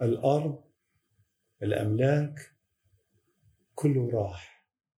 الأرض، الأملاك، كله راح.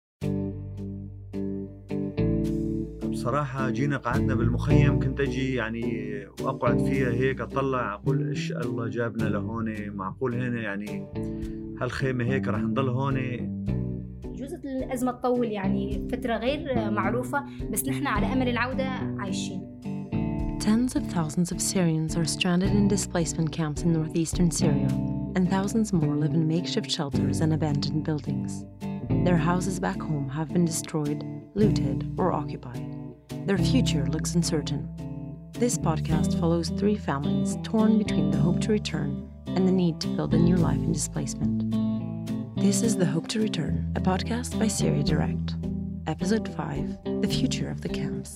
بصراحة جينا قعدنا بالمخيم، كنت أجي يعني وأقعد فيها هيك أطلع أقول إيش الله جابنا لهون، معقول هنا يعني هالخيمة هيك رح نضل هون. جزء الأزمة تطول يعني فترة غير معروفة، بس نحن على أمل العودة عايشين. Tens of thousands of Syrians are stranded in displacement camps in northeastern Syria, and thousands more live in makeshift shelters and abandoned buildings. Their houses back home have been destroyed, looted, or occupied. Their future looks uncertain. This podcast follows 3 families torn between the hope to return and the need to build a new life in displacement. This is The Hope to Return, a podcast by Syria Direct. Episode 5, The Future of the Camps.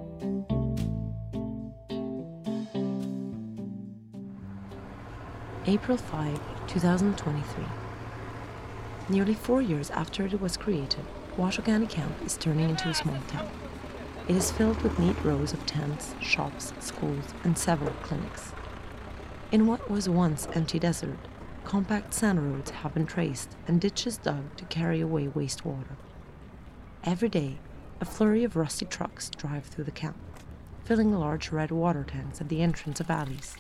April 5, 2023. Nearly 4 years after it was created, Ouattogani camp is turning into a small town. It is filled with neat rows of tents, shops, schools, and several clinics. In what was once empty desert, compact sand roads have been traced and ditches dug to carry away wastewater. Every day, a flurry of rusty trucks drive through the camp, filling large red water tanks at the entrance of alleys.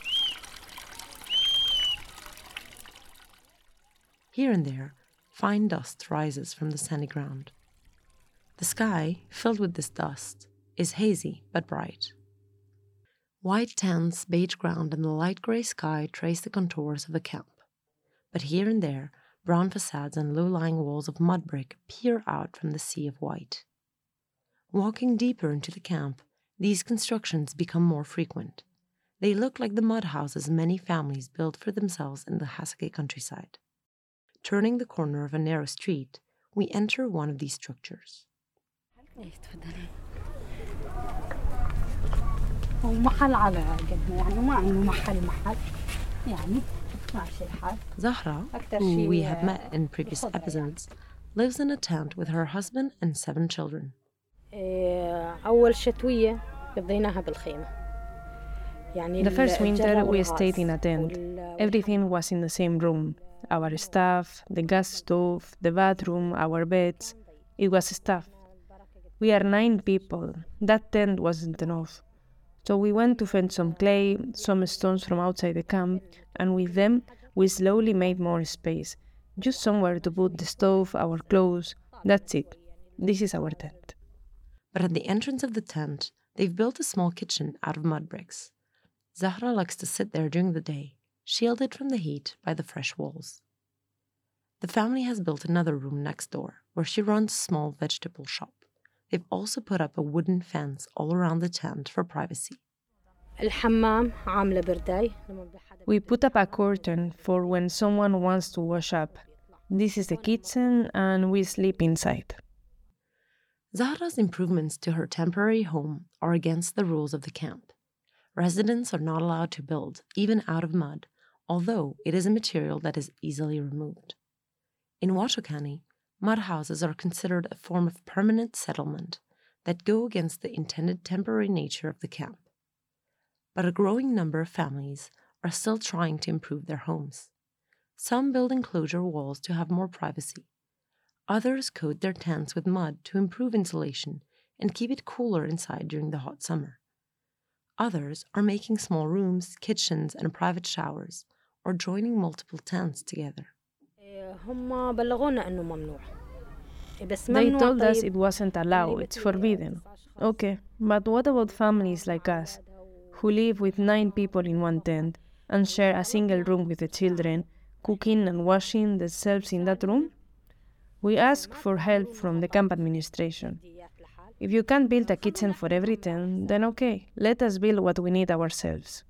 Here and there, fine dust rises from the sandy ground. The sky, filled with this dust, is hazy but bright. White tents, beige ground, and the light grey sky trace the contours of the camp. But here and there, brown facades and low-lying walls of mud brick peer out from the sea of white. Walking deeper into the camp, these constructions become more frequent. They look like the mud houses many families build for themselves in the Hasake countryside. Turning the corner of a narrow street, we enter one of these structures. Zahra, who we have met in previous episodes, lives in a tent with her husband and 7 children. The first winter we stayed in a tent. Everything was in the same room. Our stuff, the gas stove, the bathroom, our beds. It was stuff. We are 9 people. That tent wasn't enough. So we went to fetch some clay, some stones from outside the camp, and with them we slowly made more space. Just somewhere to put the stove, our clothes. That's it. This is our tent. But at the entrance of the tent, they've built a small kitchen out of mud bricks. Zahra likes to sit there during the day, shielded from the heat by the fresh walls. The family has built another room next door, where she runs a small vegetable shop. They've also put up a wooden fence all around the tent for privacy. We put up a curtain for when someone wants to wash up. This is the kitchen, and we sleep inside. Zahra's improvements to her temporary home are against the rules of the camp. Residents are not allowed to build, even out of mud, although it is a material that is easily removed. In Ouattogani, mud houses are considered a form of permanent settlement that go against the intended temporary nature of the camp. But a growing number of families are still trying to improve their homes. Some build enclosure walls to have more privacy. Others coat their tents with mud to improve insulation and keep it cooler inside during the hot summer. Others are making small rooms, kitchens, and private showers, or joining multiple tents together. They told us it wasn't allowed, it's forbidden. Okay, but what about families like us, who live with 9 people in one tent and share a single room with the children, cooking and washing themselves in that room? We ask for help from the camp administration. If you can't build a kitchen for every tent, then okay, let us build what we need ourselves.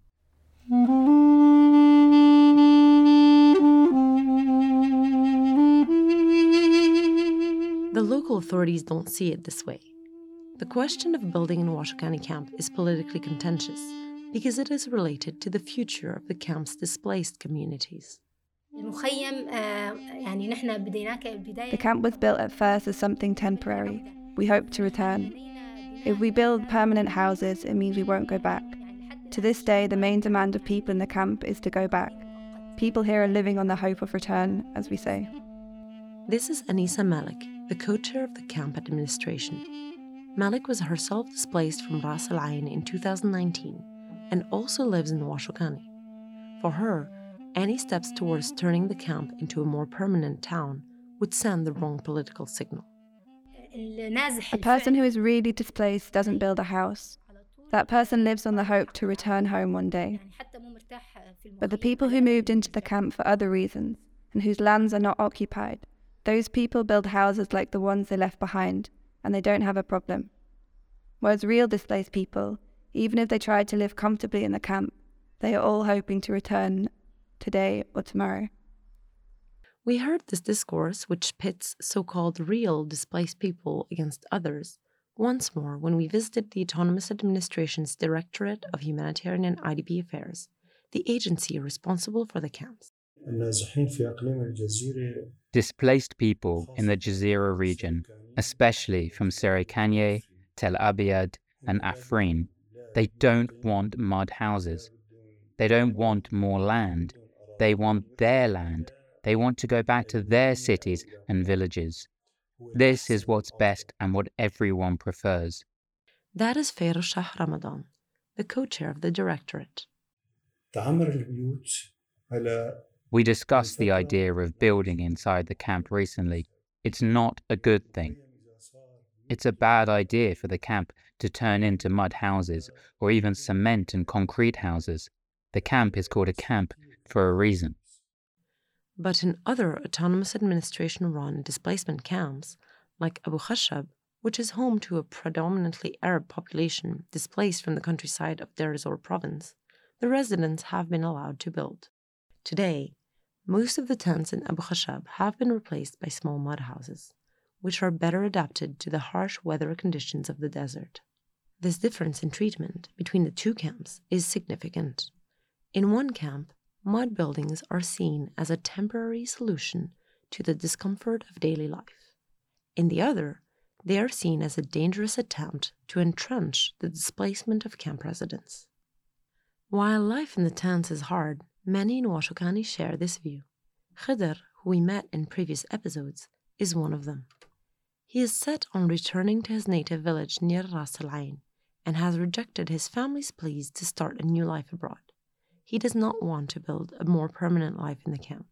The local authorities don't see it this way. The question of building in Ouattogani camp is politically contentious because it is related to the future of the camp's displaced communities. The camp was built at first as something temporary. We hope to return. If we build permanent houses, it means we won't go back. To this day, the main demand of people in the camp is to go back. People here are living on the hope of return, as we say. This is Anisa Malik, the co-chair of the camp administration. Malik was herself displaced from Ras Al Ain in 2019 and also lives in Ouashoukhani. For her, any steps towards turning the camp into a more permanent town would send the wrong political signal. A person who is really displaced doesn't build a house. That person lives on the hope to return home one day. But the people who moved into the camp for other reasons and whose lands are not occupied, those people build houses like the ones they left behind, and they don't have a problem. Whereas real displaced people, even if they tried to live comfortably in the camp, they are all hoping to return today or tomorrow. We heard this discourse, which pits so-called real displaced people against others, once more when we visited the Autonomous Administration's Directorate of Humanitarian and IDP Affairs, the agency responsible for the camps. Displaced people in the Jazeera region, especially from Serikanye, Tel Abyad, and Afrin, they don't want mud houses. They don't want more land. They want their land. They want to go back to their cities and villages. This is what's best and what everyone prefers. That is Feroz Shah Ramadan, the co-chair of the Directorate. We discussed the idea of building inside the camp recently. It's not a good thing. It's a bad idea for the camp to turn into mud houses or even cement and concrete houses. The camp is called a camp for a reason. But in other autonomous administration-run displacement camps, like Abu Khashab, which is home to a predominantly Arab population displaced from the countryside of Deir ez-Zor province, the residents have been allowed to build. Today, most of the tents in Abu Khashab have been replaced by small mud houses, which are better adapted to the harsh weather conditions of the desert. This difference in treatment between the two camps is significant. In one camp, mud buildings are seen as a temporary solution to the discomfort of daily life. In the other, they are seen as a dangerous attempt to entrench the displacement of camp residents. While life in the tents is hard, many in Ouashoukhani share this view. Khidr, who we met in previous episodes, is one of them. He is set on returning to his native village near Ras Al Ain and has rejected his family's pleas to start a new life abroad. He does not want to build a more permanent life in the camp.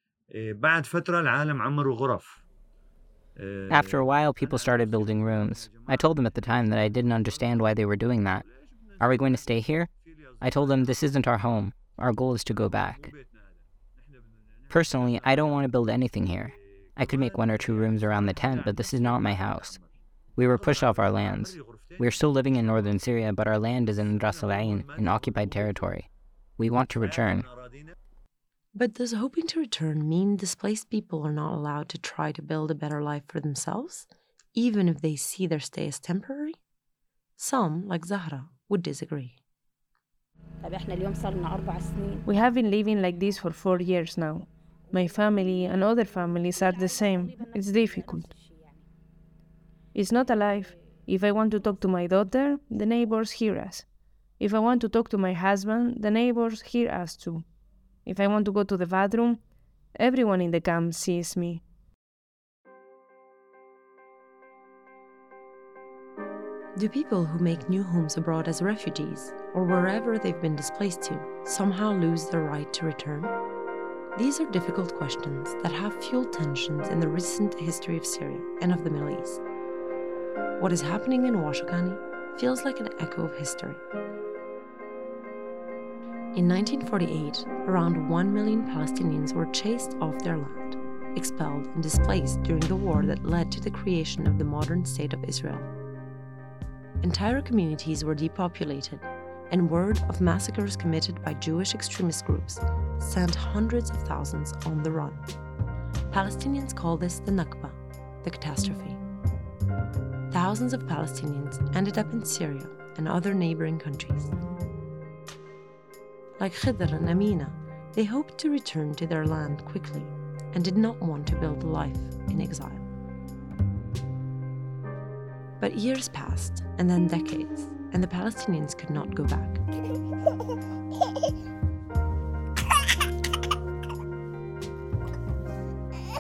After a while, people started building rooms. I told them at the time that I didn't understand why they were doing that. Are we going to stay here? I told them this isn't our home. Our goal is to go back. Personally, I don't want to build anything here. I could make 1 or 2 rooms around the tent, but this is not my house. We were pushed off our lands. We are still living in northern Syria, but our land is in Ras Al Ain, in occupied territory. We want to return. But does hoping to return mean displaced people are not allowed to try to build a better life for themselves, even if they see their stay as temporary? Some, like Zahra, would disagree. We have been living like this for 4 years now. My family and other families are the same. It's difficult. It's not a life. If I want to talk to my daughter, the neighbors hear us. If I want to talk to my husband, the neighbors hear us too. If I want to go to the bathroom, everyone in the camp sees me. Do people who make new homes abroad as refugees, or wherever they've been displaced to, somehow lose their right to return? These are difficult questions that have fueled tensions in the recent history of Syria and of the Middle East. What is happening in Ouashoukhani feels like an echo of history. In 1948, around 1 million Palestinians were chased off their land, expelled and displaced during the war that led to the creation of the modern State of Israel. Entire communities were depopulated, and word of massacres committed by Jewish extremist groups sent hundreds of thousands on the run. Palestinians call this the Nakba, the catastrophe. Thousands of Palestinians ended up in Syria and other neighboring countries. Like Khidr and Amina, they hoped to return to their land quickly and did not want to build a life in exile. But years passed, and then decades, and the Palestinians could not go back.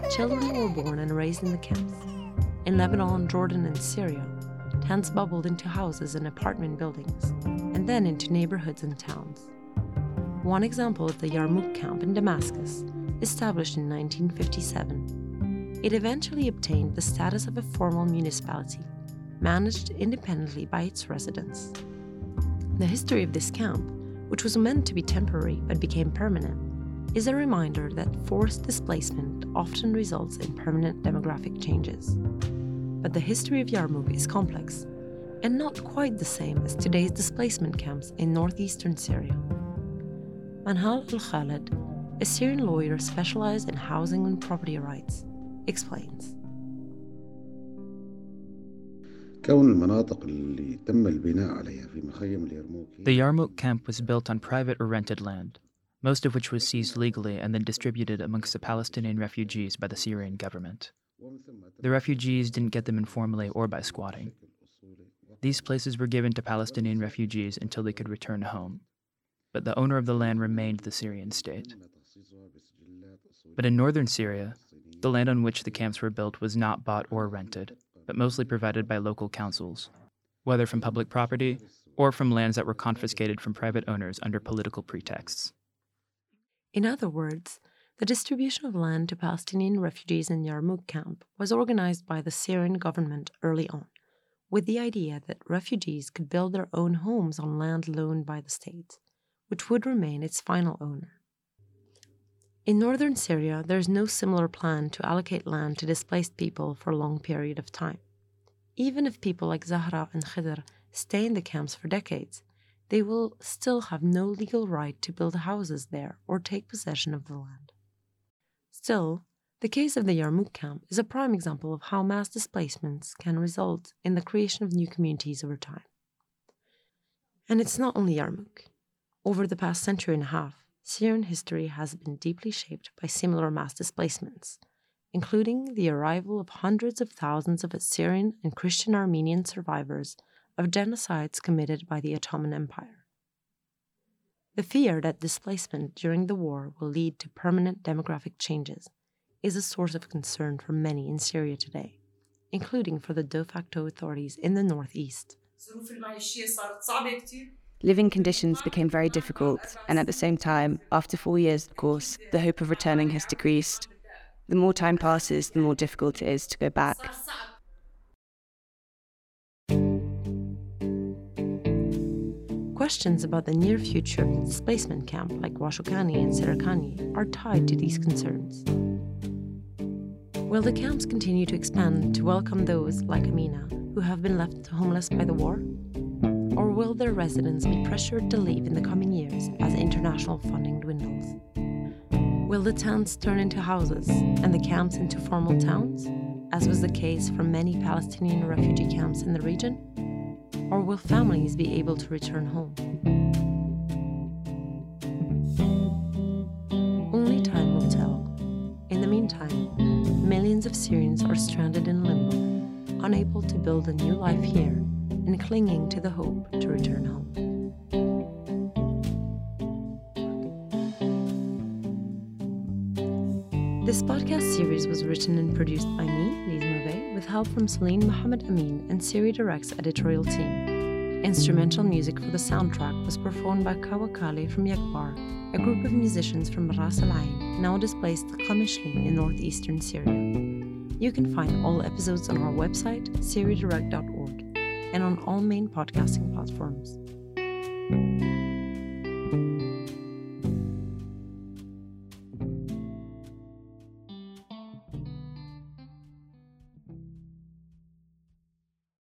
children were born and raised in the camps. In Lebanon, Jordan, and Syria, tents bubbled into houses and apartment buildings, and then into neighborhoods and towns. One example is the Yarmouk camp in Damascus, established in 1957. It eventually obtained the status of a formal municipality, managed independently by its residents. The history of this camp, which was meant to be temporary but became permanent, is a reminder that forced displacement often results in permanent demographic changes. But the history of Yarmouk is complex and not quite the same as today's displacement camps in northeastern Syria. Manhal Al-Khaled, a Syrian lawyer specialized in housing and property rights, explains. The Yarmouk camp was built on private or rented land, most of which was seized legally and then distributed amongst the Palestinian refugees by the Syrian government. The refugees didn't get them informally or by squatting. These places were given to Palestinian refugees until they could return home, but the owner of the land remained the Syrian state. But in northern Syria, the land on which the camps were built was not bought or rented, but mostly provided by local councils, whether from public property or from lands that were confiscated from private owners under political pretexts. In other words, the distribution of land to Palestinian refugees in Yarmouk camp was organized by the Syrian government early on, with the idea that refugees could build their own homes on land loaned by the state, which would remain its final owner. In northern Syria, there is no similar plan to allocate land to displaced people for a long period of time. Even if people like Zahra and Khidr stay in the camps for decades, they will still have no legal right to build houses there or take possession of the land. Still, the case of the Yarmouk camp is a prime example of how mass displacements can result in the creation of new communities over time. And it's not only Yarmouk. Over the past century and a half, Syrian history has been deeply shaped by similar mass displacements, including the arrival of hundreds of thousands of Assyrian and Christian Armenian survivors of genocides committed by the Ottoman Empire. The fear that displacement during the war will lead to permanent demographic changes is a source of concern for many in Syria today, including for the de facto authorities in the northeast. Living conditions became very difficult, and at the same time, after 4 years, of course, the hope of returning has decreased. The more time passes, the more difficult it is to go back. Questions about the near future of the displacement camp like Washokani and Serikani are tied to these concerns. Will the camps continue to expand to welcome those, like Amina, who have been left homeless by the war? Or will their residents be pressured to leave in the coming years as international funding dwindles? Will the tents turn into houses and the camps into formal towns, as was the case for many Palestinian refugee camps in the region? Or will families be able to return home? Only time will tell. In the meantime, millions of Syrians are stranded in limbo, unable to build a new life here and clinging to the hope to return home. This podcast series was written and produced by me, Lise Mauvais, with help from Celine Mohammed Amin and Syria Direct's editorial team. Instrumental music for the soundtrack was performed by Kawakale from Yakbar, a group of musicians from Ras Al Ain, now displaced Qamishli in northeastern Syria. You can find all episodes on our website, syriadirect.org, and on all main podcasting platforms.